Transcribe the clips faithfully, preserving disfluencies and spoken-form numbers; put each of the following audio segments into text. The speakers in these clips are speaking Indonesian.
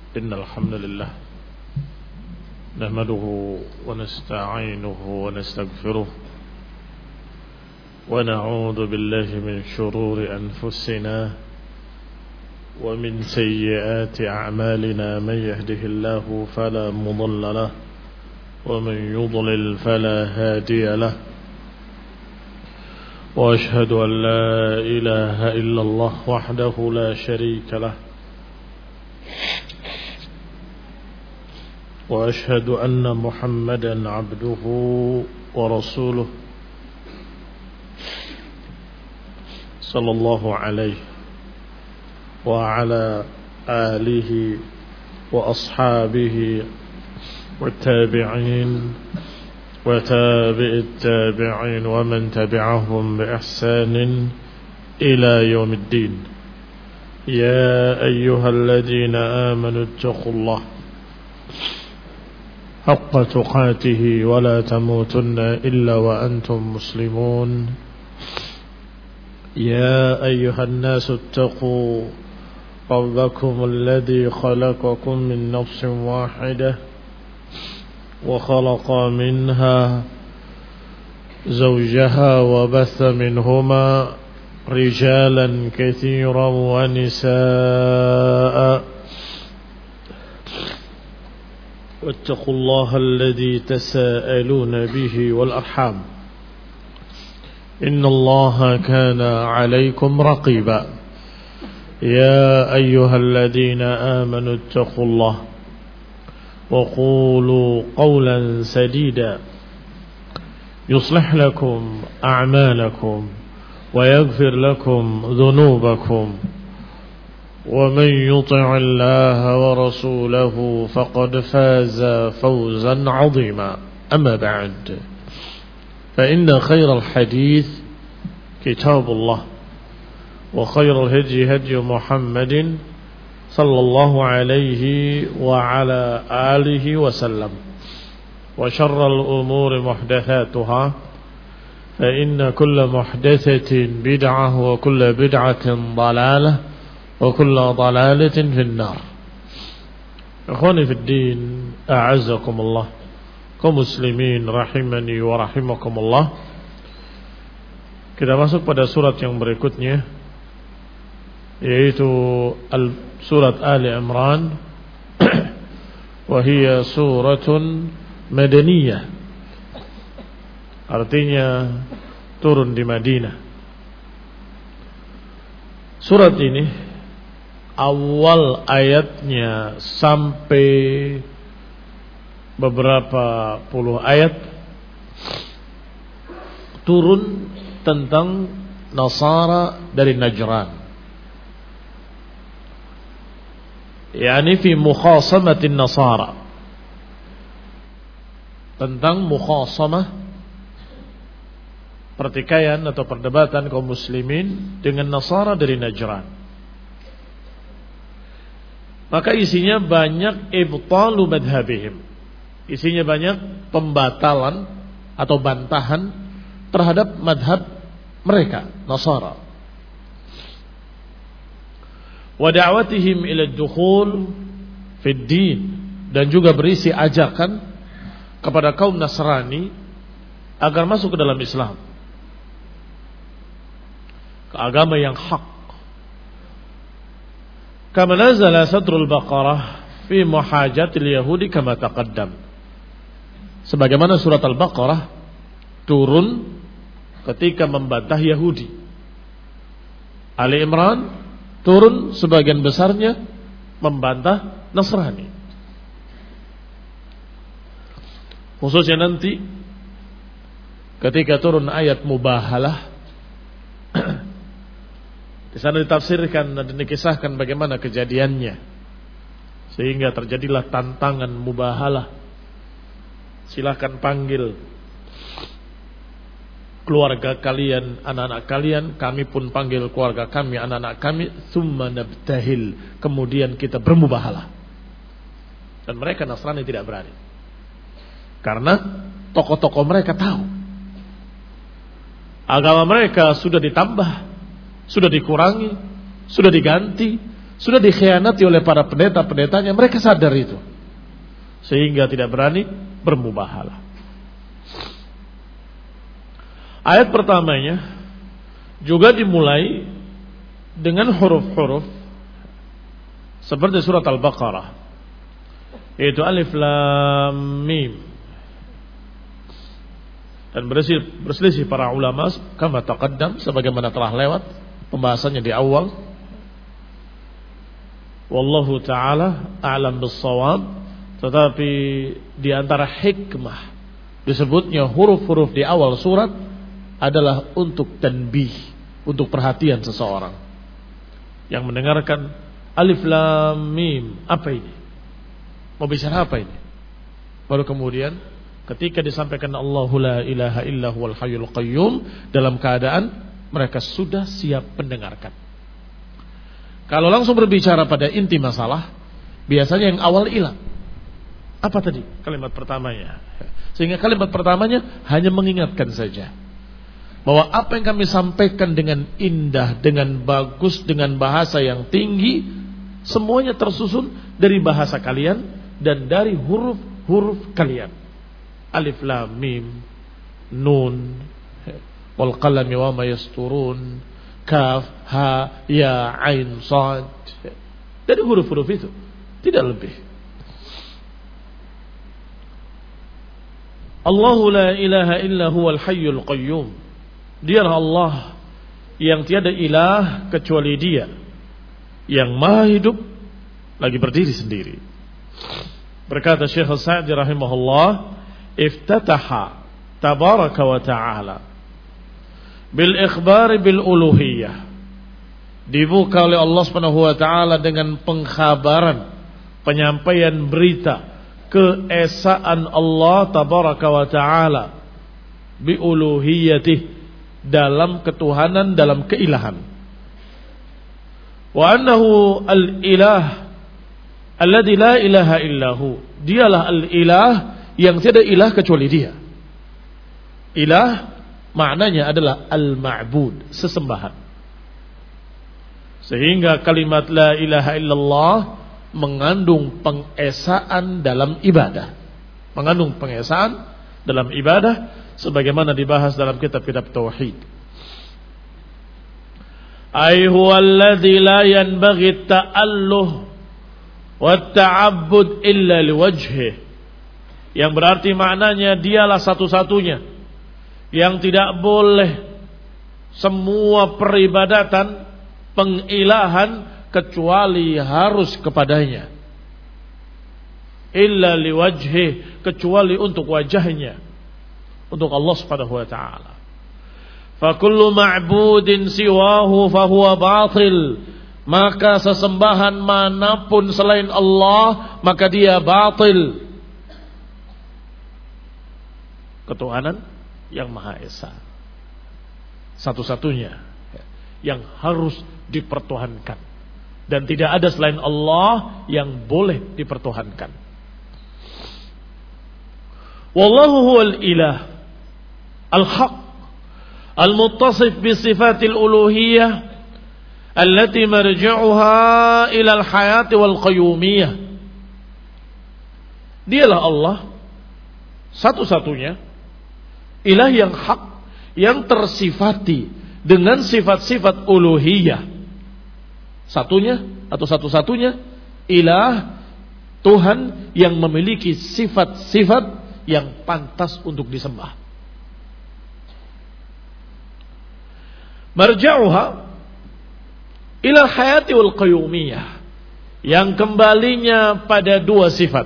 إن الحمد لله نحمده ونستعينه ونستغفره ونعوذ بالله من شرور أنفسنا ومن سيئات أعمالنا من يهده الله فلا مضل له ومن يضلل فلا هادي له وأشهد أن لا إله إلا الله وحده لا شريك له وأشهد أن محمدا عبده ورسوله صلى الله عليه وعلى آله وأصحابه والتابعين وتابع التابعين ومن تبعهم بإحسان إلى يوم الدين. يا أيها الذين آمنوا اتقوا الله حق تقاته ولا تموتن إلا وأنتم مسلمون. يا أيها الناس اتقوا ربكم الذي خلقكم من نفس واحدة وخلق منها زوجها وبث منهما رجالا كثيرا ونساء واتقوا الله الذي تساءلون به والأرحام إن الله كان عليكم رقيبا. يا أيها الذين آمنوا اتقوا الله وقولوا قولا سديدا يصلح لكم أعمالكم ويغفر لكم ذنوبكم ومن يطع الله ورسوله فقد فاز فوزا عظيما. أما بعد فإن خير الحديث كتاب الله وخير الهدي هدي محمد صلى الله عليه وعلى آله وسلم وشر الأمور محدثاتها فإن كل محدثة بدعة وكل بدعة ضلالة وكل ضلالة في النار. إخواني في الدين أعزكم الله kaum muslimin rahimani wa rahimakumullah. Kita masuk pada surat yang berikutnya, yaitu al surat Ali Imran. Wa hiya suratun madaniyah, artinya turun di Madinah. Surat ini awal ayatnya sampai beberapa puluh ayat turun tentang Nasara dari Najran, yakni fi mukhasamatin Nasara, tentang mukhasamah, pertikaian atau perdebatan kaum muslimin dengan Nasara dari Najran. Maka isinya banyak ibtalu madhabihim, isinya banyak pembatalan atau bantahan terhadap madhab mereka Nasara. Wa da'watihim ila ad-dukhul fi ad-din, dan juga berisi ajakan kepada kaum Nasrani agar masuk ke dalam Islam, ke agama yang hak. Kama nazala sadrul Baqarah fi muhajatil yahudi kama taqaddam, sebagaimana surat Al-Baqarah turun ketika membantah Yahudi. Ali Imran turun sebagian besarnya membantah Nasrani. Khususnya nanti ketika turun ayat mubahalah, di sana ditafsirkan dan dikisahkan bagaimana kejadiannya sehingga terjadilah tantangan mubahalah. Silahkan panggil keluarga kalian, anak-anak kalian, kami pun panggil keluarga kami, anak-anak kami, tsumma nabtahil, kemudian kita bermubahalah. Dan mereka Nasrani tidak berani, karena tokoh-tokoh mereka tahu agama mereka sudah ditambah, sudah dikurangi, sudah diganti, sudah dikhianati oleh para pendeta-pendetanya, mereka sadar itu. Sehingga tidak berani bermubahalah. Ayat pertamanya juga dimulai dengan huruf-huruf seperti surat Al-Baqarah, yaitu Alif Lam Mim. Dan berselisih para ulama kama taqaddam, sebagaimana telah lewat pembahasannya di awal. Wallahu ta'ala a'lam bis-shawab. Tetapi di antara hikmah disebutnya huruf-huruf di awal surat adalah untuk tanbih, untuk perhatian seseorang yang mendengarkan Alif Lam Mim, apa ini? Mau bicara apa ini? Baru kemudian ketika disampaikan Allahu la ilaha illa huwal hayyul qayyum, dalam keadaan mereka sudah siap mendengarkan. Kalau langsung berbicara pada inti masalah, biasanya yang awal hilang. Apa tadi kalimat pertamanya? Sehingga kalimat pertamanya hanya mengingatkan saja bahwa apa yang kami sampaikan dengan indah, dengan bagus, dengan bahasa yang tinggi, semuanya tersusun dari bahasa kalian dan dari huruf-huruf kalian. Alif Lam Mim, Nun, wal qalami wa ma yasturun, Kaf, Ha, Ya, Ain, Shad. Dari huruf-huruf itu, tidak lebih. Allahu la ilaha illa huwal hayyul qayyum. Dialah Allah yang tiada ilah kecuali Dia, yang maha hidup lagi berdiri sendiri. Berkata Syekh Sa'di rahimahullah, iftataha tabaraka wa ta'ala bil ikhbari bil uluhiyah. Dibuka oleh Allah Subhanahu wa taala dengan pengkhabaran, penyampaian berita keesaan Allah tabaraka wa ta'ala bi uluhiyatih, dalam ketuhanan, dalam keilahan. Wa annahu al-ilah alladzi la ilaha illahu. Dialah al-ilah yang tiada ilah kecuali Dia. Ilah maknanya adalah al-ma'bud, sesembahan. Sehingga kalimat la ilaha illallah mengandung pengesaan dalam ibadah. Mengandung pengesaan dalam ibadah, sebagaimana dibahas dalam kitab-kitab tauhid. Ai huwa alladzi la yanbaghi at-ta'alluh wa at-ta'abbud illa liwajhihi. Yang berarti maknanya dialah satu-satunya yang tidak boleh semua peribadatan, pengilahan kecuali harus kepadanya. Illa liwajhihi, kecuali untuk wajahnya, untuk Allah Subhanahu wa taala. Fa kullu ma'budin siwahu fa huwa batil. Maka sesembahan manapun selain Allah, maka dia batil. Ketuhanan yang Maha Esa, satu-satunya yang harus dipertuhankan, dan tidak ada selain Allah yang boleh dipertuhankan. Wallahu huwal ilah al-haq al-muttasif bi sifatil uluhiyah allati marji'uha ila al-hayati wal qayyumiyah. Dialah Allah satu-satunya ilah yang hak, yang tersifati dengan sifat-sifat uluhiyah. Satunya atau satu-satunya ilah, Tuhan yang memiliki sifat-sifat yang pantas untuk disembah. Marja'uha ila hayati wal qayyumiyah, yang kembalinya pada dua sifat,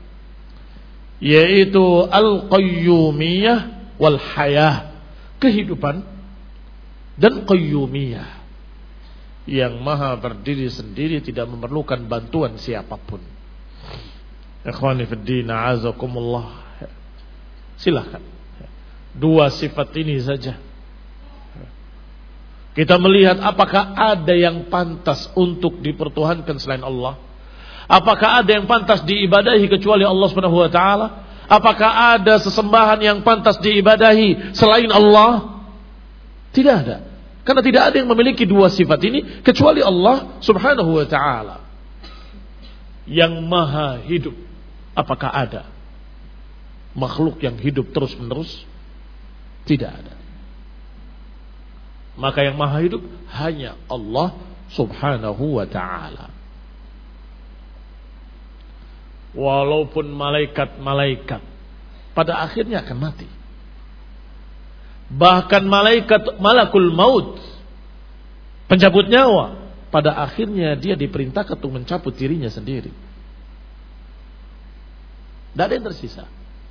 yaitu al-qayyumiyah wal hayah, kehidupan, dan qayyumiyah, yang maha berdiri sendiri, tidak memerlukan bantuan siapapun. Ikhwani fid din, a'azakumullah. Silakan, dua sifat ini saja kita melihat apakah ada yang pantas untuk dipertuhankan selain Allah. Apakah ada yang pantas diibadahi kecuali Allah Subhanahu wa taala? Apakah ada sesembahan yang pantas diibadahi selain Allah? Tidak ada. Karena tidak ada yang memiliki dua sifat ini kecuali Allah Subhanahu wa taala. Yang maha hidup. Apakah ada makhluk yang hidup terus-menerus? Tidak ada. Maka yang maha hidup hanya Allah Subhanahu wa ta'ala. Walaupun malaikat-malaikat pada akhirnya akan mati. Bahkan malaikat malakul maut, pencabut nyawa, pada akhirnya dia diperintahkan untuk mencabut dirinya sendiri. Tidak ada yang tersisa.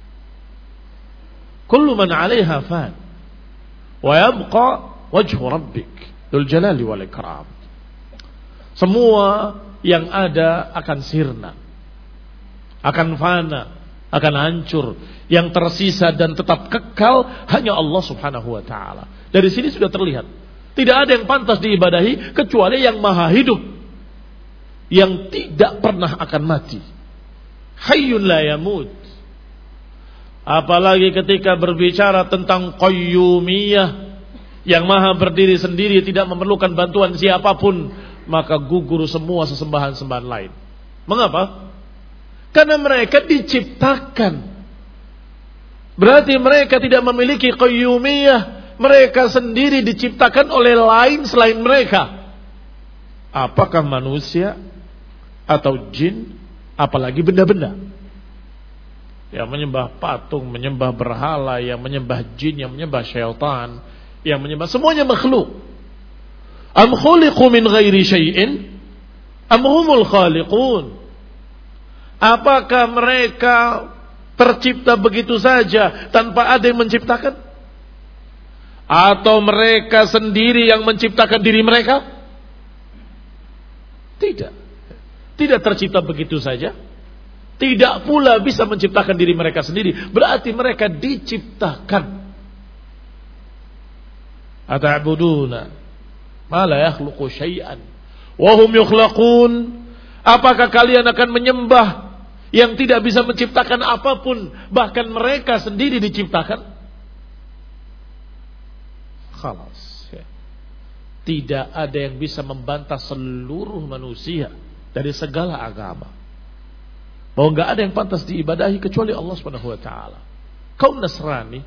Kullu man 'alaiha fan wa yabqa wajhu rabbik dzul jalali wal ikram. Semua yang ada akan sirna, akan fana, akan hancur. Yang tersisa dan tetap kekal hanya Allah Subhanahu wa taala. Dari sini sudah terlihat, tidak ada yang pantas diibadahi kecuali yang maha hidup, yang tidak pernah akan mati. Hayyun la yamut. Apalagi ketika berbicara tentang qayyumiyah, yang maha berdiri sendiri, tidak memerlukan bantuan siapapun, maka gugur semua sesembahan-sembahan lain. Mengapa? Karena mereka diciptakan. Berarti mereka tidak memiliki qayyumiyah. Mereka sendiri diciptakan oleh lain selain mereka. Apakah manusia atau jin, apalagi benda-benda yang menyembah patung, menyembah berhala, yang menyembah jin, yang menyembah syaitan, yang menyembah semuanya makhluk. Am khuliqu min ghairi syai'in am humul khaliqun. Apakah mereka tercipta begitu saja tanpa ada yang menciptakan? Atau mereka sendiri yang menciptakan diri mereka? Tidak. Tidak tercipta begitu saja. Tidak pula bisa menciptakan diri mereka sendiri. Berarti mereka diciptakan. Ata'buduna ma la yakhluqu syai'an wa hum yukhlaqun. Apakah kalian akan menyembah yang tidak bisa menciptakan apapun, bahkan mereka sendiri diciptakan? Khalas. Tidak ada yang bisa membantah seluruh manusia dari segala agama bahwa enggak ada yang pantas diibadahi kecuali Allah Subhanahu wa taala. Kaum Nasrani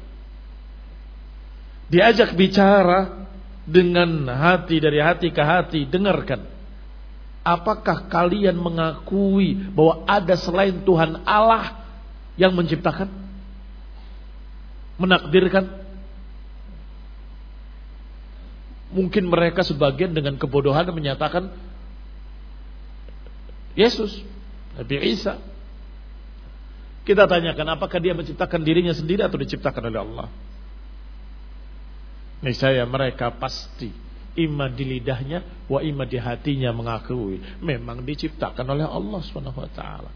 diajak bicara dengan hati, dari hati ke hati, dengarkan. Apakah kalian mengakui bahwa ada selain Tuhan Allah yang menciptakan, menakdirkan? Mungkin mereka sebagian dengan kebodohan menyatakan Yesus, Nabi Isa. Kita tanyakan, apakah dia menciptakan dirinya sendiri atau diciptakan oleh Allah? Niscaya mereka pasti ima di lidahnya wa ima di hatinya mengakui memang diciptakan oleh Allah Subhanahu wa taala.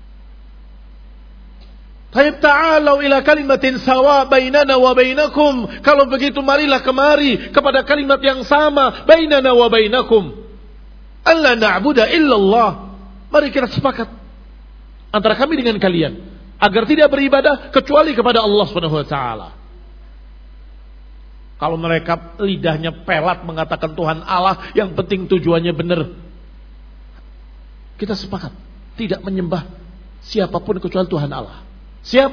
Tayyib ta'alu ila kalimatin sawa bainana wa bainakum. Kalau begitu marilah kemari kepada kalimat yang sama bainana wa bainakum. Alla na'budu illallah. Mari kita sepakat antara kami dengan kalian agar tidak beribadah kecuali kepada Allah Subhanahu wa taala. Kalau mereka lidahnya pelat mengatakan Tuhan Allah, yang penting tujuannya benar. Kita sepakat tidak menyembah siapapun kecuali Tuhan Allah. Siap?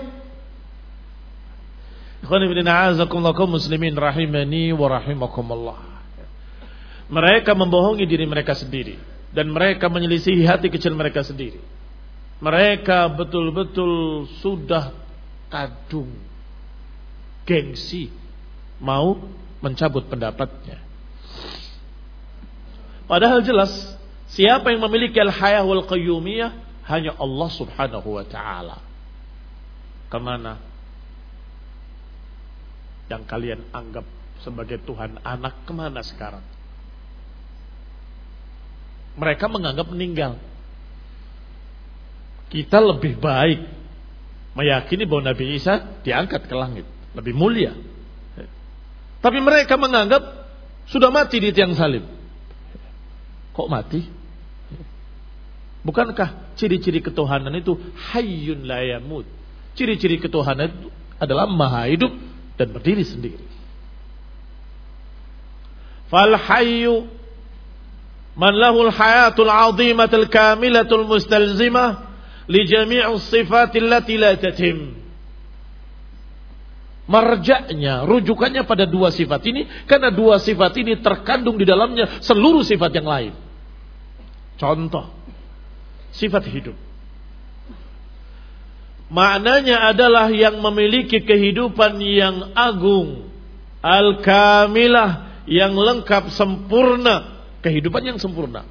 Ikhwan fillah a'azakumullah kaum muslimin rahimani wa rahimakumullah. Mereka membohongi diri mereka sendiri dan mereka menyelisihi hati kecil mereka sendiri. Mereka betul-betul sudah kadung gengsi mau mencabut pendapatnya. Padahal jelas siapa yang memiliki al-hayah wal qayyumiyah hanya Allah Subhanahu wa taala. Kemana yang kalian anggap sebagai Tuhan anak, kemana sekarang? Mereka menganggap meninggal. Kita lebih baik meyakini bahwa Nabi Isa diangkat ke langit, lebih mulia. Tapi mereka menganggap sudah mati di tiang salib. Kok mati? Bukankah ciri-ciri ketuhanan itu hayyun la yamut? Ciri-ciri ketuhanan itu adalah maha hidup dan berdiri sendiri. Fal hayyu man lahul hayatul 'azimatul kamilatul mustalzimah li jami'us sifatil lati la tatim. Marja'nya, rujukannya pada dua sifat ini, karena dua sifat ini terkandung di dalamnya seluruh sifat yang lain. Contoh, sifat hidup. Maknanya adalah yang memiliki kehidupan yang agung, al-kamilah, yang lengkap, sempurna, kehidupan yang sempurna.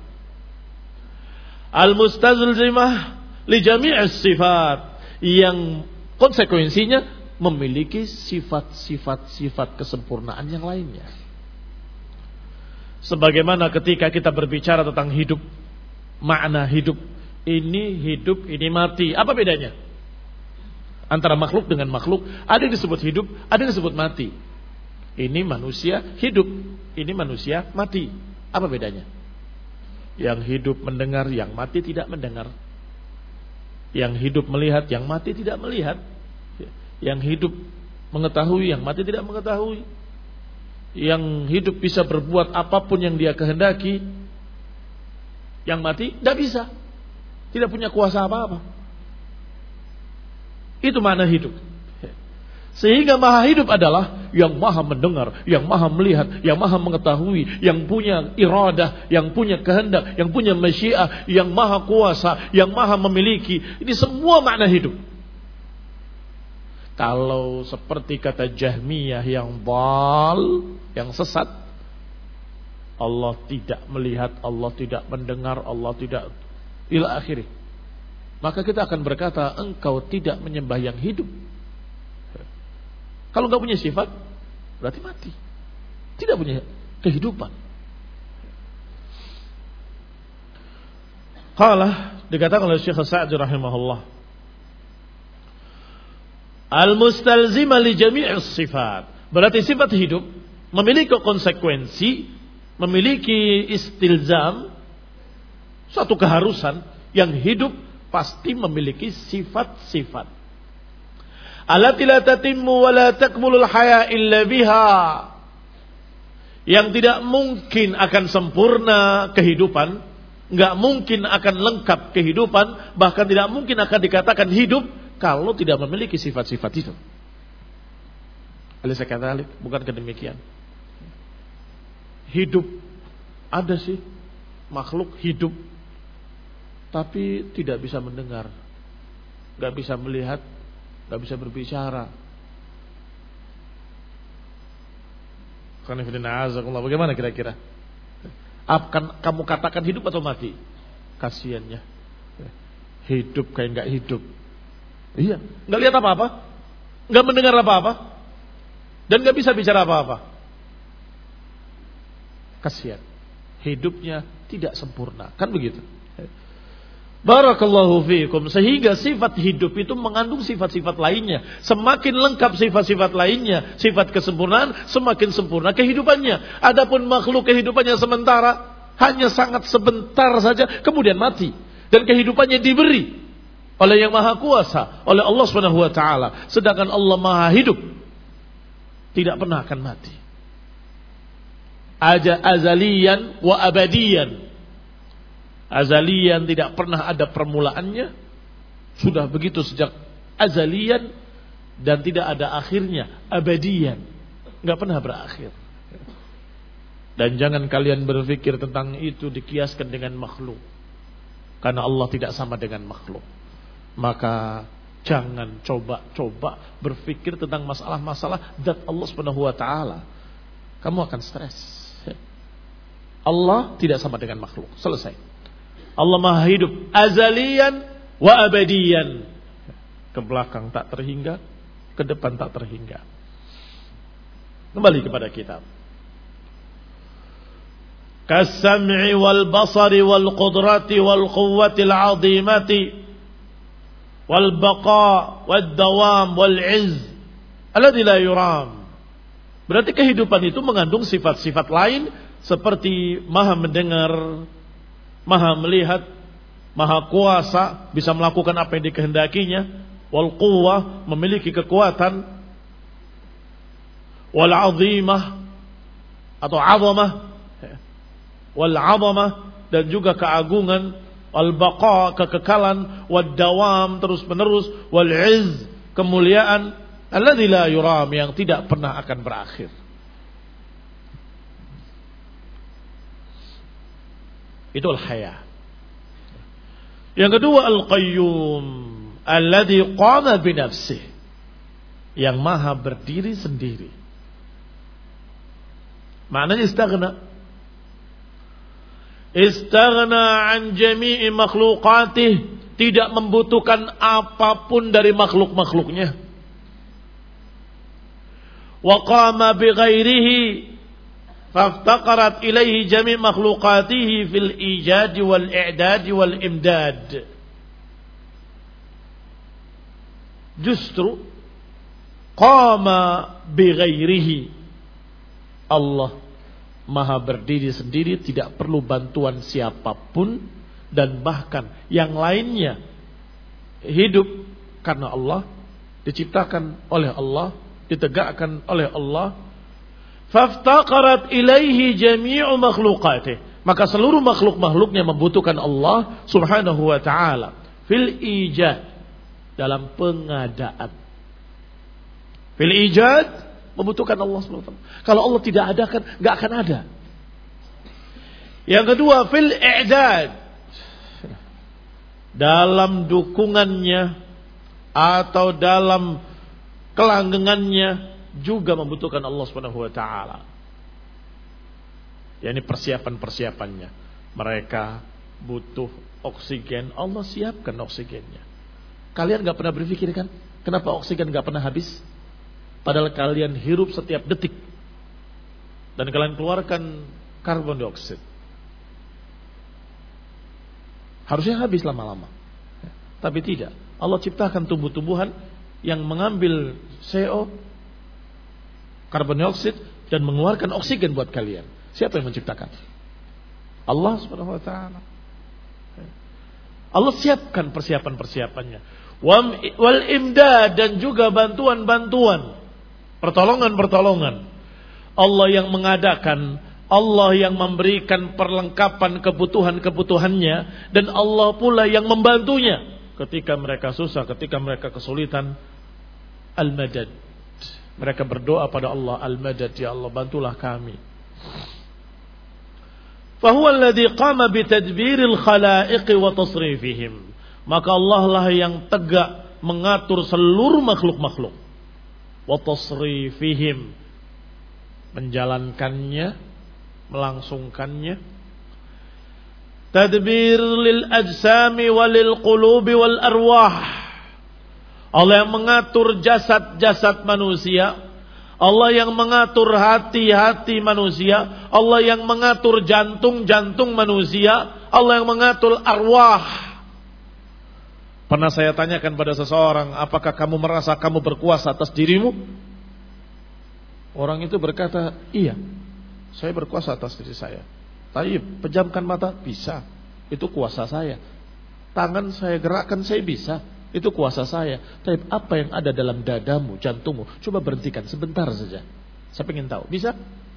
Al-mustazlimah li jami'is sifat, yang konsekuensinya memiliki sifat-sifat-sifat kesempurnaan yang lainnya. Sebagaimana ketika kita berbicara tentang hidup, makna hidup, ini hidup, ini mati. Apa bedanya antara makhluk dengan makhluk? Ada yang disebut hidup, ada yang disebut mati. Ini manusia hidup, ini manusia mati. Apa bedanya? Yang hidup mendengar, yang mati tidak mendengar. Yang hidup melihat, yang mati tidak melihat. Yang hidup mengetahui, yang mati tidak mengetahui. Yang hidup bisa berbuat apapun yang dia kehendaki, yang mati tidak bisa, tidak punya kuasa apa-apa. Itu makna hidup. Sehingga maha hidup adalah yang maha mendengar, yang maha melihat, yang maha mengetahui, yang punya iradah, yang punya kehendak, yang punya masyiah, yang maha kuasa, yang maha memiliki. Ini semua makna hidup. Kalau seperti kata Jahmiyah yang bal, yang sesat, Allah tidak melihat, Allah tidak mendengar, Allah tidak ila akhirih, maka kita akan berkata, engkau tidak menyembah yang hidup. Kalau enggak punya sifat, berarti mati, tidak punya kehidupan. Qala, dikatakan oleh Syekh Sa'di rahimahullah, al-mustalzima li jami'is sifat. Berarti sifat hidup memiliki konsekuensi, memiliki istilzam, suatu keharusan. Yang hidup pasti memiliki sifat-sifat. Allati la tatimmu wa la takmulul haya illa biha. Yang tidak mungkin akan sempurna kehidupan, enggak mungkin akan lengkap kehidupan, bahkan tidak mungkin akan dikatakan hidup kalau tidak memiliki sifat-sifat itu. Alaysa kadzalik? Bukankah demikian? Hidup, ada sih makhluk hidup, tapi tidak bisa mendengar, gak bisa melihat, gak bisa berbicara. Bagaimana kira-kira? Akan kamu katakan hidup atau mati? Kasiannya, hidup kayak gak hidup. Iya, nggak lihat apa-apa, nggak mendengar apa-apa, dan nggak bisa bicara apa-apa. Kasihan, hidupnya tidak sempurna, kan begitu? Barakallahu fiikum. Sehingga sifat hidup itu mengandung sifat-sifat lainnya. Semakin lengkap sifat-sifat lainnya, sifat kesempurnaan, semakin sempurna kehidupannya. Adapun makhluk kehidupannya sementara, hanya sangat sebentar saja, kemudian mati, dan kehidupannya diberi oleh yang maha kuasa, oleh Allah subhanahu wa ta'ala. Sedangkan Allah maha hidup, tidak pernah akan mati. Aja azalian wa abadian. Azalian, tidak pernah ada permulaannya, sudah begitu sejak azalian, dan tidak ada akhirnya, abadian, gak pernah berakhir. Dan jangan kalian berpikir tentang itu dikiaskan dengan makhluk, karena Allah tidak sama dengan makhluk. Maka jangan coba-coba berpikir tentang masalah-masalah zat Allah Subhanahu wa taala. Kamu akan stres. Allah tidak sama dengan makhluk. Selesai. Allah Maha hidup azalian wa abadian. Ke belakang tak terhingga, ke depan tak terhingga. Kembali kepada kitab. Kas-sam'i wal basari wal qudrati wal quwwati al 'azimati wal baqa wad dawam wal 'izz alladzi la yuram. Berarti kehidupan itu mengandung sifat-sifat lain seperti maha mendengar, maha melihat, maha kuasa, bisa melakukan apa yang dikehendakinya, wal quwwah, memiliki kekuatan, wal 'azimah atau 'azamah, wal 'azamah, dan juga keagungan, wal baqa, kekekalan, wad dawam, terus menerus, wal 'izz, kemuliaan, alladzi la yuram, yang tidak pernah akan berakhir. Itu al-haya. Yang kedua al-qayyum, alladzi qama bi nafsihi, yang maha berdiri sendiri. Maknanya istaghna. Istaghna an jami'i makhluqatih, tidak membutuhkan apapun dari makhluk-makhluknya. Wa qama bi ghairihi faftaqarat ilaihi jami' makhluqatihi fil ijad wal i'dad wal imdad. Justru qama bi ghairihi, Allah maha berdiri sendiri, tidak perlu bantuan siapapun, dan bahkan yang lainnya hidup karena Allah, diciptakan oleh Allah, ditegakkan oleh Allah. Faftaqarat ilaihi jami'u makhluqatih, maka seluruh makhluk-makhluknya membutuhkan Allah subhanahu wa ta'ala. Fil ijad, dalam pengadaan. Fil ijad, membutuhkan Allah subhanahu wa ta'ala. Kalau Allah tidak adakan, gak akan ada. Yang kedua, fil i'dad, dalam dukungannya atau dalam kelanggengannya juga membutuhkan Allah subhanahu wa ta'ala. Ya, ini persiapan-persiapannya. Mereka butuh oksigen, Allah siapkan oksigennya. Kalian gak pernah berpikir kan, kenapa oksigen gak pernah habis? Padahal kalian hirup setiap detik, dan kalian keluarkan karbon dioksida. Harusnya habis lama-lama, tapi tidak. Allah ciptakan tumbuh-tumbuhan yang mengambil C O, karbon dioksida, dan mengeluarkan oksigen buat kalian. Siapa yang menciptakan? Allah subhanahu wa ta'ala. Allah siapkan persiapan-persiapannya. Wal imdad, dan juga bantuan-bantuan, pertolongan-pertolongan. Allah yang mengadakan, Allah yang memberikan perlengkapan kebutuhan-kebutuhannya, dan Allah pula yang membantunya ketika mereka susah, ketika mereka kesulitan. Al-madad, mereka berdoa pada Allah, al-madad, ya Allah bantulah kami. Fahuwa alladhi qama bitadbiril khalaiq wa tasrifihim, maka Allah lah yang tegak mengatur seluruh makhluk-makhluk. Wa tasrifihim, menjalankannya, melangsungkannya. Tadbir lil ajsami walil qulubi wal arwah, Allah yang mengatur jasad-jasad manusia, Allah yang mengatur hati-hati manusia, Allah yang mengatur jantung-jantung manusia, Allah yang mengatur arwah. Pernah saya tanyakan pada seseorang, apakah kamu merasa kamu berkuasa atas dirimu? Orang itu berkata, iya, saya berkuasa atas diri saya. Tapi pejamkan mata, bisa, itu kuasa saya. Tangan saya gerakkan, saya bisa, itu kuasa saya. Tapi apa yang ada dalam dadamu, jantungmu, coba berhentikan sebentar saja. Saya ingin tahu, bisa?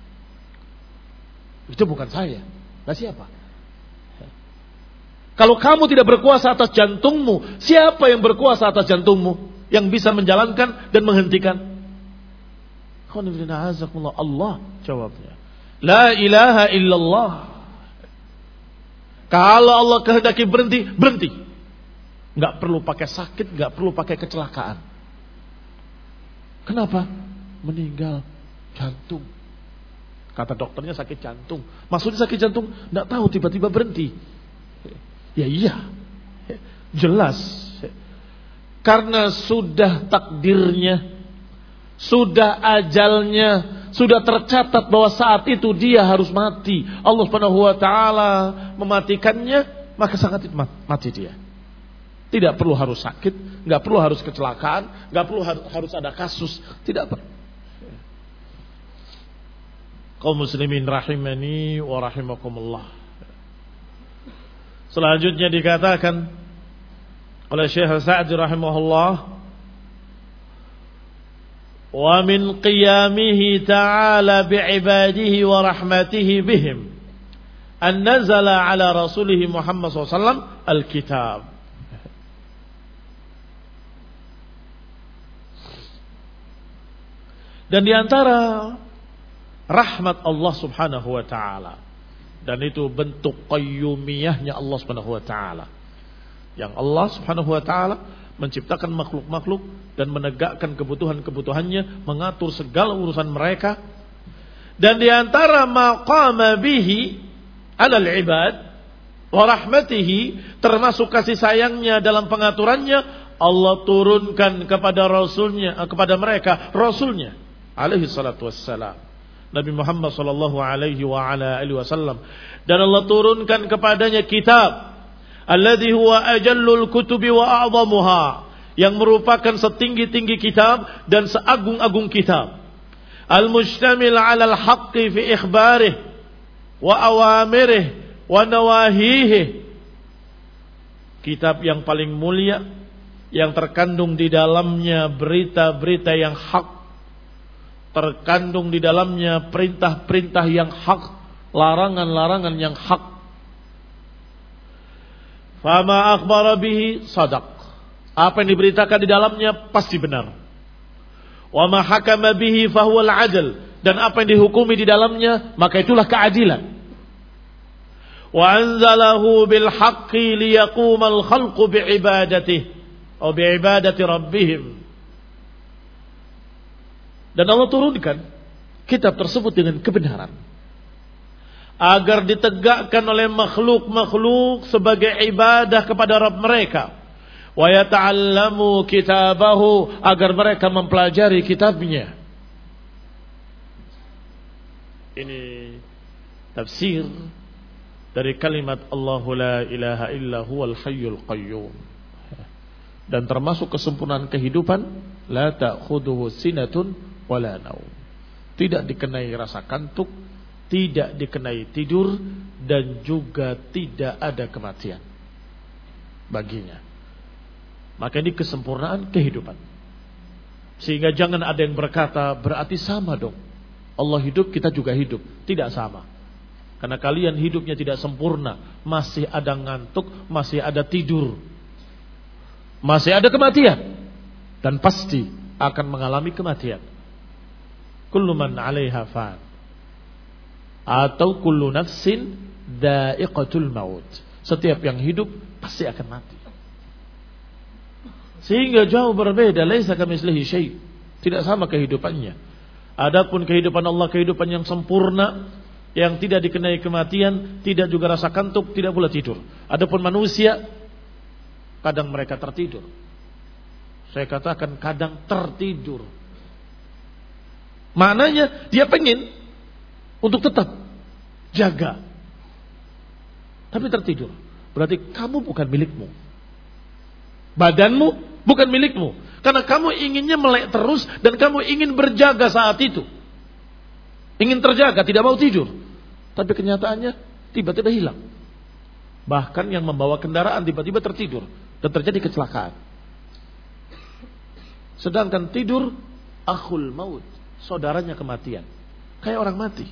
Itu bukan saya. Nah siapa? Kalau kamu tidak berkuasa atas jantungmu, siapa yang berkuasa atas jantungmu, yang bisa menjalankan dan menghentikan? Allah jawabnya. La ilaha illallah. Kalau Allah kehendaki berhenti, berhenti. Gak perlu pakai sakit, gak perlu pakai kecelakaan. Kenapa? Meninggal jantung. Kata dokternya sakit jantung. Maksudnya sakit jantung, gak tahu, tiba-tiba berhenti. Ya iya, jelas. Karena sudah takdirnya, sudah ajalnya, sudah tercatat bahwa saat itu dia harus mati. Allah Subhanahu wa taala mematikannya, maka sangat mati dia. Tidak perlu harus sakit, enggak perlu harus kecelakaan, enggak perlu harus ada kasus, tidak perlu. Kaum muslimin rahimani wa rahimakumullah. Selanjutnya dikatakan oleh Syekh Sa'di rahimahullah, wa min qiyamihi ta'ala bi'ibadihi wa rahmatihi bihim an nazala ala rasulih Muhammad sallallahu alaihi wasallam al-kitab. Dan di antara rahmat Allah Subhanahu wa taala, dan itu bentuk qayyumiyahnya Allah Subhanahu wa taala, yang Allah Subhanahu wa taala menciptakan makhluk-makhluk dan menegakkan kebutuhan-kebutuhannya, mengatur segala urusan mereka. Dan di antara maqama bihi 'alal ibad wa rahmatihi, termasuk kasih sayangnya dalam pengaturannya, Allah turunkan kepada rasulnya, kepada mereka rasulnya alaihi salatu wassalam, Nabi Muhammad sallallahu alaihi wa ala alihi wasallam, dan Allah turunkan kepadanya kitab alladzi huwa ajallul kutubi wa a'zamuha, yang merupakan setinggi-tinggi kitab dan seagung-agung kitab, al-mustamil 'ala al-haqqi fi ikhbarih wa awamirih wa nawahihi, kitab yang paling mulia yang terkandung di dalamnya berita-berita yang hak, terkandung di dalamnya perintah-perintah yang hak, larangan-larangan yang hak. Fama akhbara bihi sadaq, apa yang diberitakan di dalamnya pasti benar. Wa ma hakama bihi fahuwal adl, dan apa yang dihukumi di dalamnya maka itulah keadilan. Wa anzalahu bil haqqi liyaqumal khalqu bi'ibadatihi atau bi'ibadati rabbihim. Dan Allah turunkan kitab tersebut dengan kebenaran, agar ditegakkan oleh makhluk-makhluk sebagai ibadah kepada Rabb mereka. Wa yata'allamu kitabahu, agar mereka mempelajari kitabnya. Ini tafsir dari kalimat Allahu la ilaha illa huwal hayyul qayyum. Dan termasuk kesempurnaan kehidupan, la ta'khuduhu sinatun wala naum, tidak dikenai rasa kantuk, tidak dikenai tidur, dan juga tidak ada kematian baginya. Maka ini kesempurnaan kehidupan. Sehingga jangan ada yang berkata berarti sama dong, Allah hidup kita juga hidup. Tidak sama. Karena kalian hidupnya tidak sempurna, masih ada ngantuk, masih ada tidur, masih ada kematian, dan pasti akan mengalami kematian. Kullu man 'alaiha fan, atau kullu nafsin dha'iqatul maut, setiap yang hidup pasti akan mati. Sehingga jauh berbeda, laisa kamitslihi syai', tidak sama kehidupannya. Adapun kehidupan Allah kehidupan yang sempurna, yang tidak dikenai kematian, tidak juga rasa kantuk, tidak pula tidur. Adapun manusia, kadang mereka tertidur. Saya katakan kadang tertidur. Maknanya dia pengen untuk tetap jaga, tapi tertidur. Berarti kamu bukan milikmu, badanmu bukan milikmu, karena kamu inginnya melek terus dan kamu ingin berjaga saat itu, ingin terjaga, tidak mau tidur. Tapi kenyataannya tiba-tiba hilang. Bahkan yang membawa kendaraan tiba-tiba tertidur dan terjadi kecelakaan. Sedangkan tidur akhul maut, saudaranya kematian, kayak orang mati.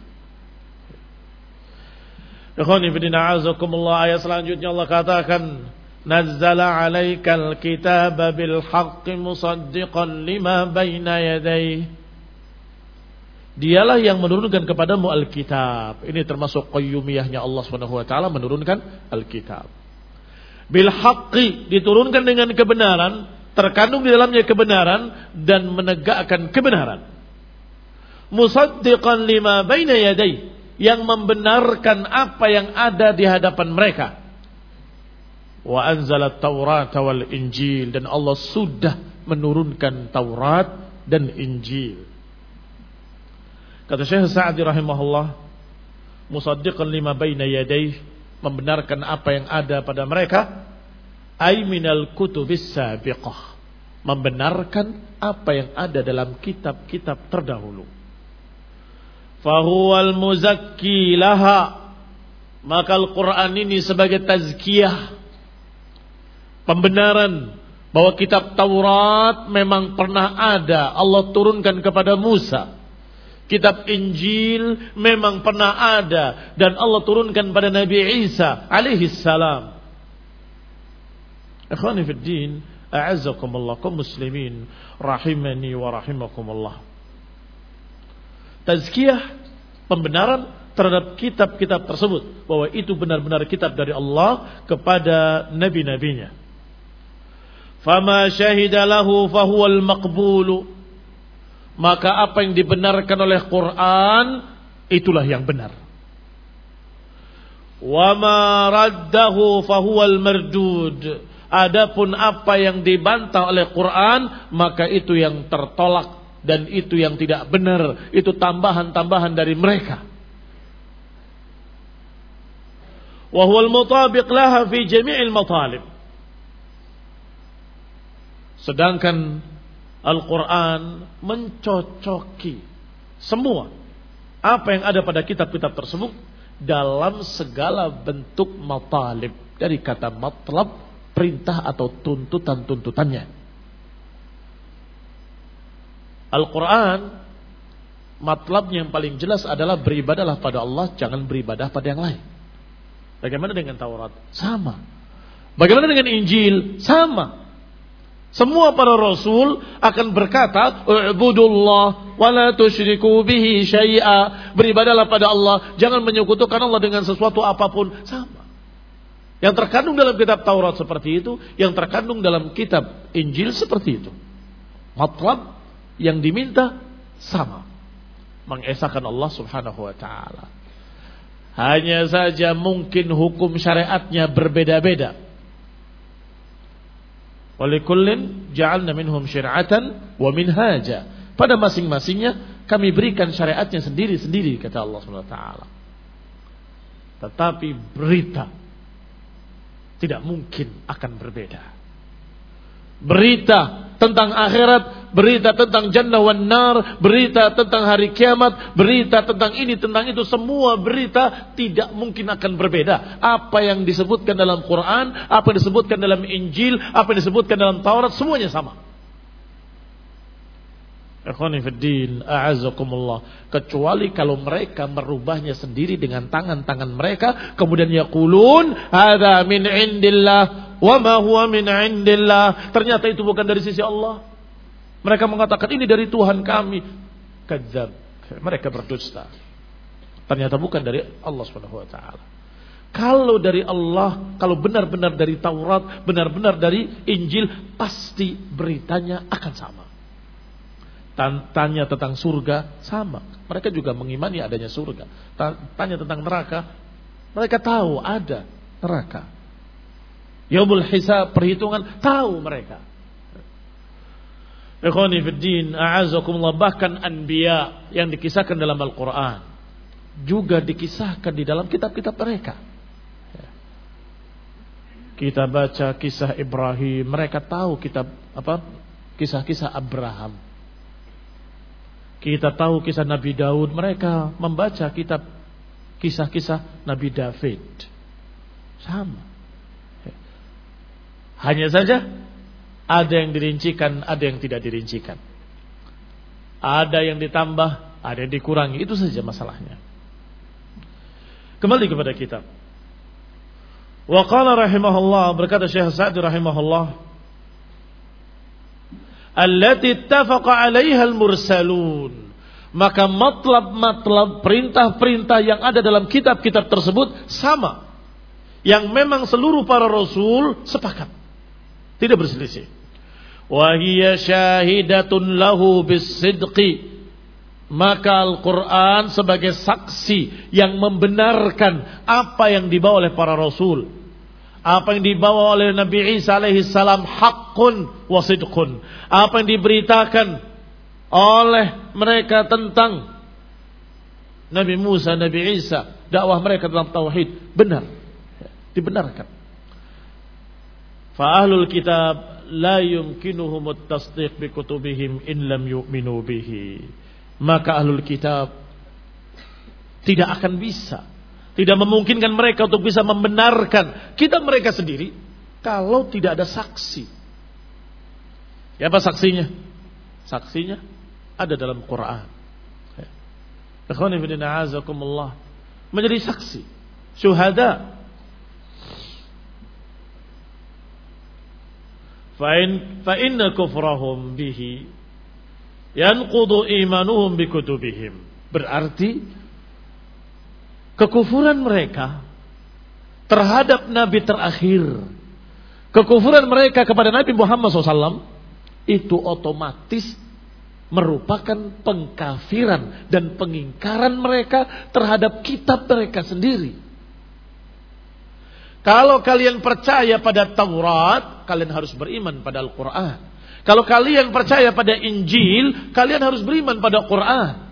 Ikhwani fillah, a'azakumullah. Ayat selanjutnya Allah katakan, nazzala 'alaikal kitaba bil haqqi musaddiqan lima baina yadayhi. Dialah yang menurunkan kepadamu Alkitab. Ini termasuk qayyumiyahnya Allah Subhanahu wa taala, menurunkan Alkitab. Bil haqqi, diturunkan dengan kebenaran, terkandung di dalamnya kebenaran dan menegakkan kebenaran. Musaddiqan lima baina yadayhi, yang membenarkan apa yang ada di hadapan mereka. Wa anzalat Taurat wal Injil, dan Allah sudah menurunkan Taurat dan Injil. Kata Syekh Sa'di rahimahullah, musaddiqan lima baina yadayhi, membenarkan apa yang ada pada mereka, ay minal kutubis sabiqah, membenarkan apa yang ada dalam kitab-kitab terdahulu. Fahuwal muzakki laha, maka Al-Quran ini sebagai tazkiyah, pembenaran bahwa kitab Taurat memang pernah ada, Allah turunkan kepada Musa. Kitab Injil memang pernah ada dan Allah turunkan pada Nabi Isa alaihi salam. Ikhwani fid din, a'azzakumullah, kaum muslimin rahimani wa rahimakumullah. Tazkiyah, pembenaran terhadap kitab-kitab tersebut, bahwa itu benar-benar kitab dari Allah kepada nabi-nabinya. Fama syahida lahu fahuwal maqbulu, maka apa yang dibenarkan oleh Quran itulah yang benar. Wa ma raddahu fahuwal mardud, adapun apa yang dibantah oleh Quran maka itu yang tertolak dan itu yang tidak benar, itu tambahan-tambahan dari mereka. Wa huwal mutabiq laha fi jami'il matalib, sedangkan Al-Quran mencocoki semua apa yang ada pada kitab-kitab tersebut dalam segala bentuk matalib, dari kata matlab, perintah atau tuntutan-tuntutannya. Al-Quran matlabnya yang paling jelas adalah beribadahlah pada Allah, jangan beribadah pada yang lain. Bagaimana dengan Taurat? Sama. Bagaimana dengan Injil? Sama. Semua para rasul akan berkata, "U'budullah wa la tusyriku bihi syai'a." Beribadahlah pada Allah, jangan menyekutukan Allah dengan sesuatu apapun. Sama. Yang terkandung dalam kitab Taurat seperti itu, yang terkandung dalam kitab Injil seperti itu. Matlab yang diminta sama. Mengesahkan Allah Subhanahu wa taala. Hanya saja mungkin hukum syariatnya berbeda-beda. Walikullin ja'alna minhum syir'atan wa minhaja. Pada masing-masingnya kami berikan syariatnya sendiri-sendiri, kata Allah Subhanahu wa taala. Tetapi berita tidak mungkin akan berbeda. Berita tentang akhirat, berita tentang jannah wan nar, berita tentang hari kiamat, berita tentang ini, tentang itu, semua berita tidak mungkin akan berbeda. Apa yang disebutkan dalam Quran, apa yang disebutkan dalam Injil, apa yang disebutkan dalam Taurat, semuanya sama. Ikhwani fiddin, a'azzakumullah. Kecuali kalau mereka merubahnya sendiri dengan tangan-tangan mereka, kemudian yaqulun hadza min indillah wa ma huwa min indillah, ternyata itu bukan dari sisi Allah. Mereka mengatakan ini dari Tuhan kami. Kadzab, mereka berdusta. Ternyata bukan dari Allah Subhanahu wa taala. Kalau dari Allah, kalau benar-benar dari Taurat, benar-benar dari Injil, pasti beritanya akan sama. Tanya tentang surga sama, mereka juga mengimani adanya surga. Tanya tentang neraka, mereka tahu ada neraka. Yaumul hisab, perhitungan, tahu mereka. Ikhwani fiddin, a'azakumullah, bahkan anbiya yang dikisahkan dalam Al-Quran juga dikisahkan di dalam kitab-kitab mereka. Kita baca kisah Ibrahim, mereka tahu kitab apa? Kisah-kisah Abraham. Kita tahu kisah Nabi Daud, mereka membaca kitab kisah-kisah Nabi David. Sama. Hanya saja ada yang dirincikan, ada yang tidak dirincikan. Ada yang ditambah, ada yang dikurangi. Itu saja masalahnya. Kembali kepada kitab. Wa qala rahimahullah, berkata Syekh Sa'di rahimahullah, allati ittafaqa 'alaiha al-mursalun, maka matlab-matlab, perintah-perintah yang ada dalam kitab-kitab tersebut sama, yang memang seluruh para rasul sepakat, tidak berselisih. Wa hiya syahidatun lahu bis-sidqi, maka Al-Quran sebagai saksi yang membenarkan apa yang dibawa oleh para rasul. Apa yang dibawa oleh Nabi Isa alaihi salam haqqun wa sidqun. Apa yang diberitakan oleh mereka tentang Nabi Musa, Nabi Isa, dakwah mereka dalam tauhid, benar, dibenarkan. Fa ahlul kitab la yumkinuhum at-tasdiq bi kutubihim in lam yu'minu bihi. Maka ahlul kitab tidak akan bisa, tidak memungkinkan mereka untuk bisa membenarkan kitab mereka sendiri kalau tidak ada saksi. Ya, apa saksinya? Saksinya ada dalam Quran. Ikhwani fillah azakumullah, menjadi saksi, syuhada. Fa'in fa'inna kufrahum bihi yanqudu imanuhum bikutubihim. Berarti kekufuran mereka terhadap Nabi terakhir, kekufuran mereka kepada Nabi Muhammad shallallahu alaihi wasallam itu otomatis merupakan pengkafiran dan pengingkaran mereka terhadap kitab mereka sendiri. Kalau kalian percaya pada Taurat, kalian harus beriman pada Al-Quran. Kalau kalian percaya pada Injil, kalian harus beriman pada Quran.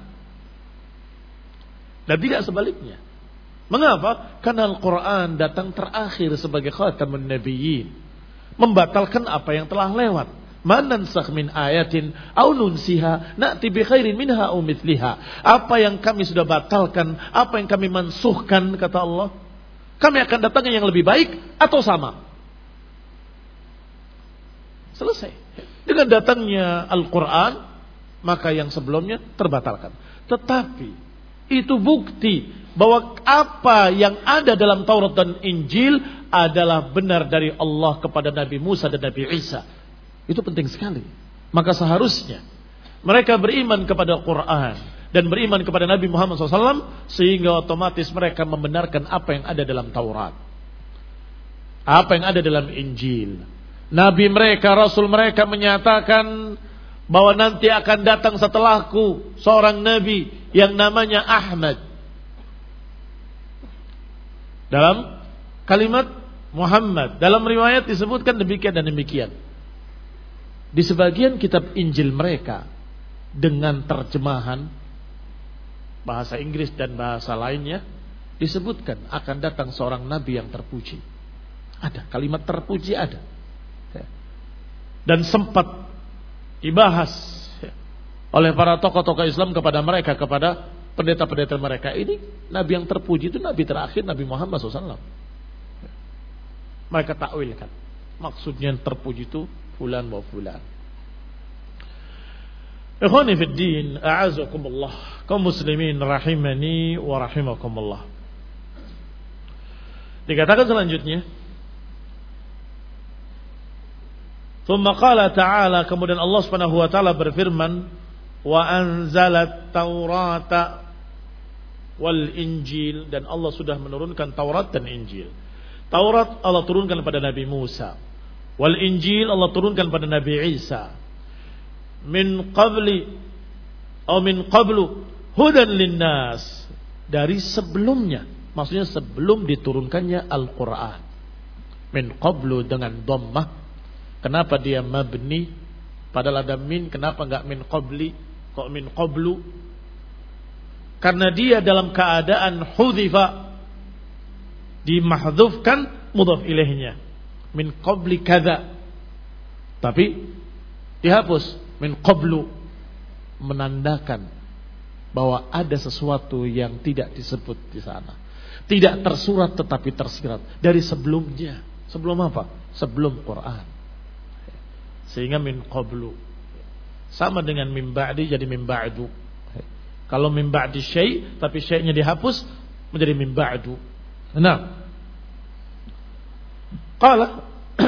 Dan tidak sebaliknya. Mengapa? Karena Al-Quran datang terakhir sebagai khatamun nabiyyin, membatalkan apa yang telah lewat. Man nansakh min ayatin aw nunsiha na'ti bi khairin minha aw mithliha. Apa yang kami sudah batalkan, apa yang kami mansuhkan, kata Allah, kami akan datangnya yang lebih baik atau sama. Selesai. Dengan datangnya Al-Quran, maka yang sebelumnya terbatalkan. Tetapi itu bukti bahwa apa yang ada dalam Taurat dan Injil adalah benar dari Allah kepada Nabi Musa dan Nabi Isa. Itu penting sekali. Maka seharusnya mereka beriman kepada Quran dan beriman kepada Nabi Muhammad shallallahu alaihi wasallam, sehingga otomatis mereka membenarkan apa yang ada dalam Taurat, apa yang ada dalam Injil. Nabi mereka, Rasul mereka menyatakan bahwa nanti akan datang setelahku seorang Nabi yang namanya Ahmad. Dalam kalimat Muhammad, dalam riwayat disebutkan demikian dan demikian. Di sebagian kitab Injil mereka dengan terjemahan bahasa Inggris dan bahasa lainnya disebutkan akan datang seorang nabi yang terpuji. Ada kalimat terpuji, ada. Dan sempat dibahas oleh para tokoh-tokoh Islam kepada mereka, kepada pendeta-pendeta mereka, ini nabi yang terpuji itu nabi terakhir, Nabi Muhammad shallallahu alaihi wasallam. Mereka takwilkan, maksudnya yang terpuji itu fulan wa fulan. Ikhwani fid din, a'azakumullah, kaum muslimin rahimani wa rahimakumullah. Dikatakan selanjutnya, thumma qala ta'ala, kemudian Allah Subhanahu wa taala berfirman, wa anzalat taurata wal injil, dan Allah sudah menurunkan Taurat dan Injil. Taurat Allah turunkan pada Nabi Musa, wal injil Allah turunkan pada Nabi Isa. Min qabli atau min qablu hudan linnas, dari sebelumnya, maksudnya sebelum diturunkannya Al-Quran. Min qablu dengan dhammah. Kenapa dia mabni padahal ada min? Kenapa enggak min qabli kok min qablu? Karena dia dalam keadaan hudhifa, dimahdhufkan mudhaf ilaihnya, min qabli kadza, tapi dihapus min qablu, menandakan bahwa ada sesuatu yang tidak disebut di sana, tidak tersurat tetapi tersirat dari sebelumnya. Sebelum apa? Sebelum Quran. Sehingga min qablu sama dengan min ba'di jadi min ba'du. Kalau min ba'di syai' tapi syai'-nya dihapus menjadi min ba'du. Nah, qala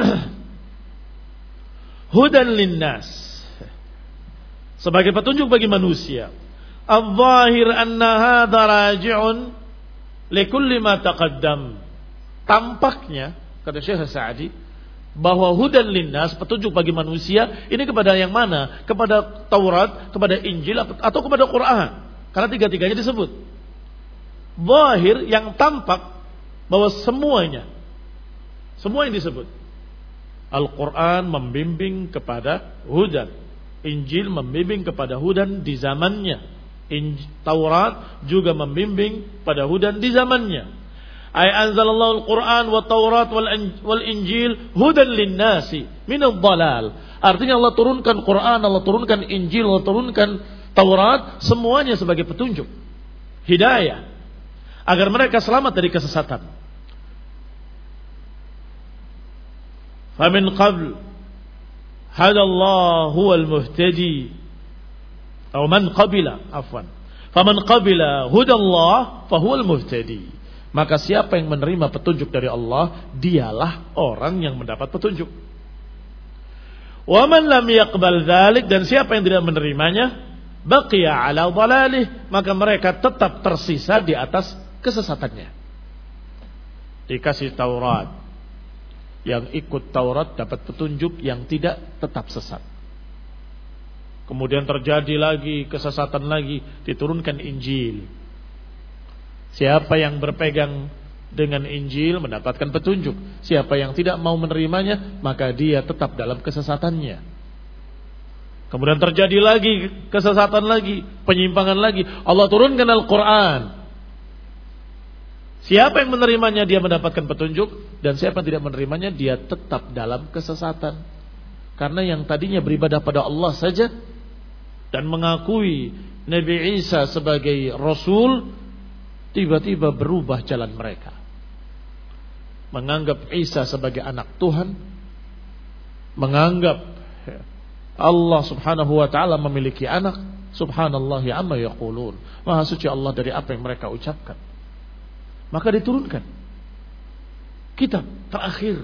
hudan linnas, sebagai petunjuk bagi manusia. Al-zahir anna hadha raji'un likulli ma taqaddam. Tampaknya, kata Syekh Sa'di, bahwa hudan linnas, petunjuk bagi manusia, ini kepada yang mana? Kepada Taurat, kepada Injil, atau kepada Quran? Karena tiga-tiganya disebut. Zahir, yang tampak, bahwa semuanya, semua yang disebut. Al-Quran membimbing kepada hudan, Injil membimbing kepada hudan di zamannya, Injil, Taurat juga membimbing pada hudan di zamannya. Ay anzalallahu al-Quran wa Taurat wal Injil hudan linnasi minadh dhalal. Artinya Allah turunkan Quran, Allah turunkan Injil, Allah turunkan Taurat, semuanya sebagai petunjuk, hidayah, agar mereka selamat dari kesesatan. Famin qabl hadallahu huwal muhtadi atau man qabila afwan Faman qabila hudallah fahuwal muhtadi. Maka siapa yang menerima petunjuk dari Allah, dialah orang yang mendapat petunjuk. Wa man lam yaqbal dzalik, dan siapa yang tidak menerimanya, baqiya ala dhalalih, maka mereka tetap tersisa di atas kesesatannya. Dikasih Taurat, yang ikut Taurat dapat petunjuk, yang tidak tetap sesat. Kemudian terjadi lagi kesesatan lagi, diturunkan Injil. Siapa yang berpegang dengan Injil mendapatkan petunjuk. Siapa yang tidak mau menerimanya, maka dia tetap dalam kesesatannya. Kemudian terjadi lagi kesesatan lagi, penyimpangan lagi. Allah turunkan Al-Quran. Siapa yang menerimanya, dia mendapatkan petunjuk. Dan siapa yang tidak menerimanya, dia tetap dalam kesesatan. Karena yang tadinya beribadah pada Allah saja dan mengakui Nabi Isa sebagai Rasul, tiba-tiba berubah jalan mereka. Menganggap Isa sebagai anak Tuhan, menganggap Allah subhanahu wa ta'ala memiliki anak. Subhanallah amma yaqulun. Maha suci Allah dari apa yang mereka ucapkan. Maka diturunkan kitab terakhir,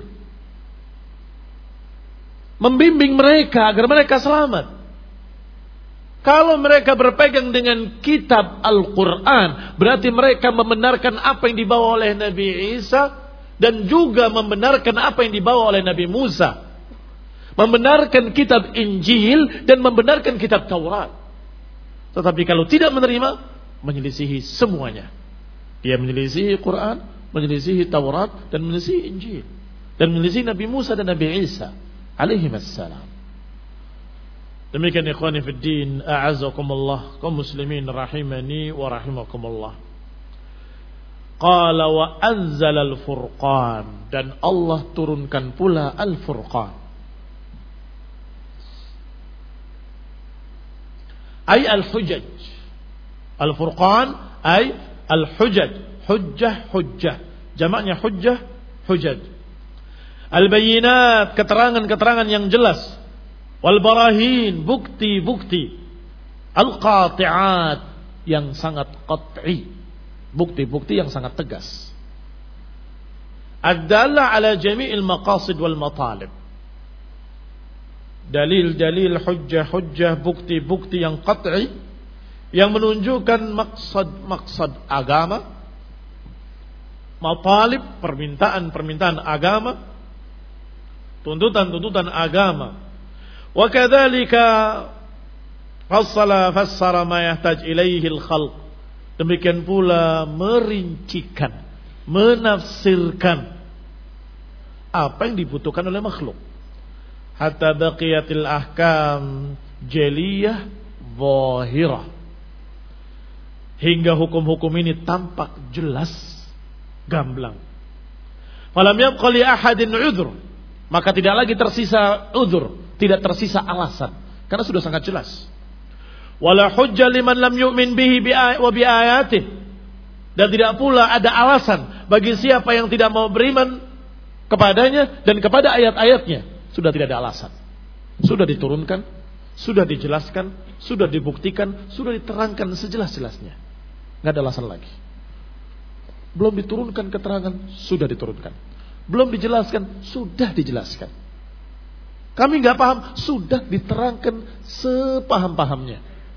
membimbing mereka agar mereka selamat. Kalau mereka berpegang dengan kitab Al-Quran, berarti mereka membenarkan apa yang dibawa oleh Nabi Isa, dan juga membenarkan apa yang dibawa oleh Nabi Musa. Membenarkan kitab Injil dan membenarkan kitab Taurat. Tetapi kalau tidak menerima, menyelisihi semuanya. Dia menyelisihi Quran, menyelisihi Taurat, dan menyelisihi Injil, dan menyelisihi Nabi Musa dan Nabi Isa alaihimassalam. Demikian ikhwani fid din, a'azzakumullah, kaum muslimin rahimani wa rahimakumullah. Qala wa anzala al-furqan, dan Allah turunkan pula al-furqan. Ay al-hujaj. Al-furqan ay al-hujaj, hujjah hujjah. Jamaknya hujjah hujaj. Al-bayyinat, keterangan-keterangan yang jelas. Wal-barahin, bukti-bukti. Al-qati'at, yang sangat qat'i, bukti-bukti yang sangat tegas. Ad-dalla ala jami'il maqasid wal matalib. Dalil-dalil, hujjah-hujjah, bukti-bukti yang qat'i, yang menunjukkan maksad-maksad agama, matalib, permintaan-permintaan agama, tuntutan-tuntutan agama. Wa kadzalika fassala fassara ma yahtaj ilaihi al-khalq. Demikian pula merincikan, menafsirkan apa yang dibutuhkan oleh makhluk. Hatta baqiyatil ahkam jaliyah zahirah, hingga hukum-hukum ini tampak jelas, gamblang. Falam yabqa li ahadin udhr, maka tidak lagi tersisa udhr, tidak tersisa alasan, karena sudah sangat jelas. Wala hujja liman lam yu'min bihi wa bi ayatihi, dan tidak pula ada alasan bagi siapa yang tidak mau beriman kepadanya dan kepada ayat-ayatnya. Sudah tidak ada alasan. Sudah diturunkan, sudah dijelaskan, sudah dibuktikan, sudah diterangkan sejelas-jelasnya. Enggak ada alasan lagi. Belum diturunkan keterangan, sudah diturunkan. Belum dijelaskan, sudah dijelaskan. Kami enggak paham, sudah diterangkan sepaham-pahamnya.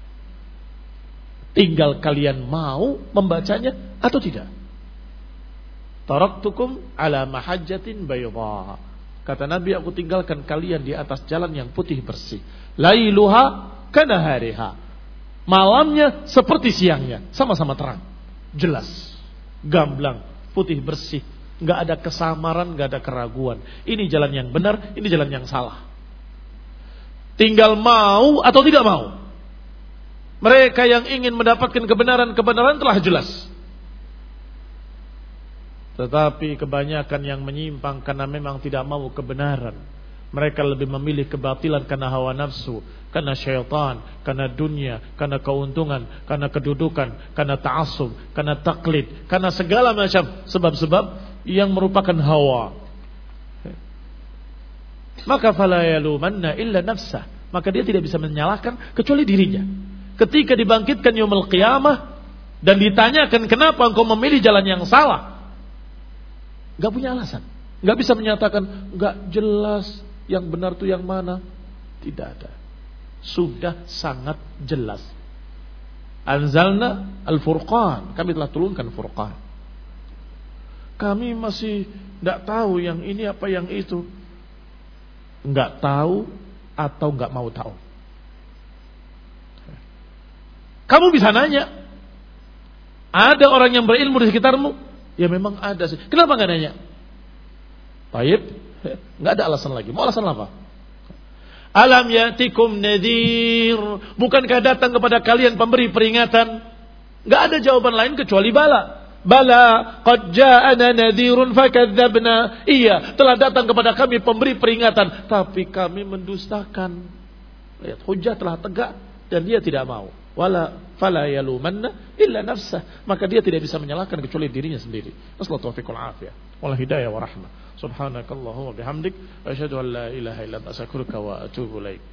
Tinggal kalian mau membacanya atau tidak. Taraktukum ala mahajjatin bayda. Kata Nabi, aku tinggalkan kalian di atas jalan yang putih bersih. Lailuha kanahariha. Malamnya seperti siangnya, sama-sama terang, jelas, gamblang, putih bersih. Enggak ada kesamaran, enggak ada keraguan. Ini jalan yang benar, ini jalan yang salah. Tinggal mau atau tidak mau. Mereka yang ingin mendapatkan kebenaran-kebenaran telah jelas. Tetapi kebanyakan yang menyimpang karena memang tidak mau kebenaran. Mereka lebih memilih kebatilan karena hawa nafsu, karena syaitan, karena dunia, karena keuntungan, karena kedudukan, karena ta'assub, karena taklid, karena segala macam sebab-sebab yang merupakan hawa. Maka fala yalumanna illa nafsah, maka dia tidak bisa menyalahkan kecuali dirinya. ketika dibangkitkan yaumul qiyamah dan ditanyakan kenapa engkau memilih jalan yang salah, enggak punya alasan. Enggak bisa menyatakan enggak jelas yang benar itu yang mana. Tidak ada. Sudah sangat jelas. Anzalna al-Furqan, kami telah turunkan Furqan. Kami masih enggak tahu yang ini apa yang itu. Enggak tahu atau enggak mau tahu. Kamu bisa nanya. Ada orang yang berilmu di sekitarmu? Ya memang ada sih. Kenapa enggak nanya? Baik, enggak ada alasan lagi. Mau alasan apa? Alam yatikum nadhir, bukankah datang kepada kalian pemberi peringatan? Enggak ada jawaban lain kecuali bala. Bala, qad ja'ana nadhirun fakadzabna. Iya, telah datang kepada kami pemberi peringatan, tapi kami mendustakan. Lihat, hujjah telah tegak dan dia tidak mau. Wala fala yalumanna illa nafsah, maka dia tidak bisa menyalahkan kecuali dirinya sendiri. Nasallahu taufiq wal afiyah wal hidayah wa rahmah. Subhanakallahumma bihamdik asyhadu an la ilaha illa anta astaghfiruka wa atubu ilaik.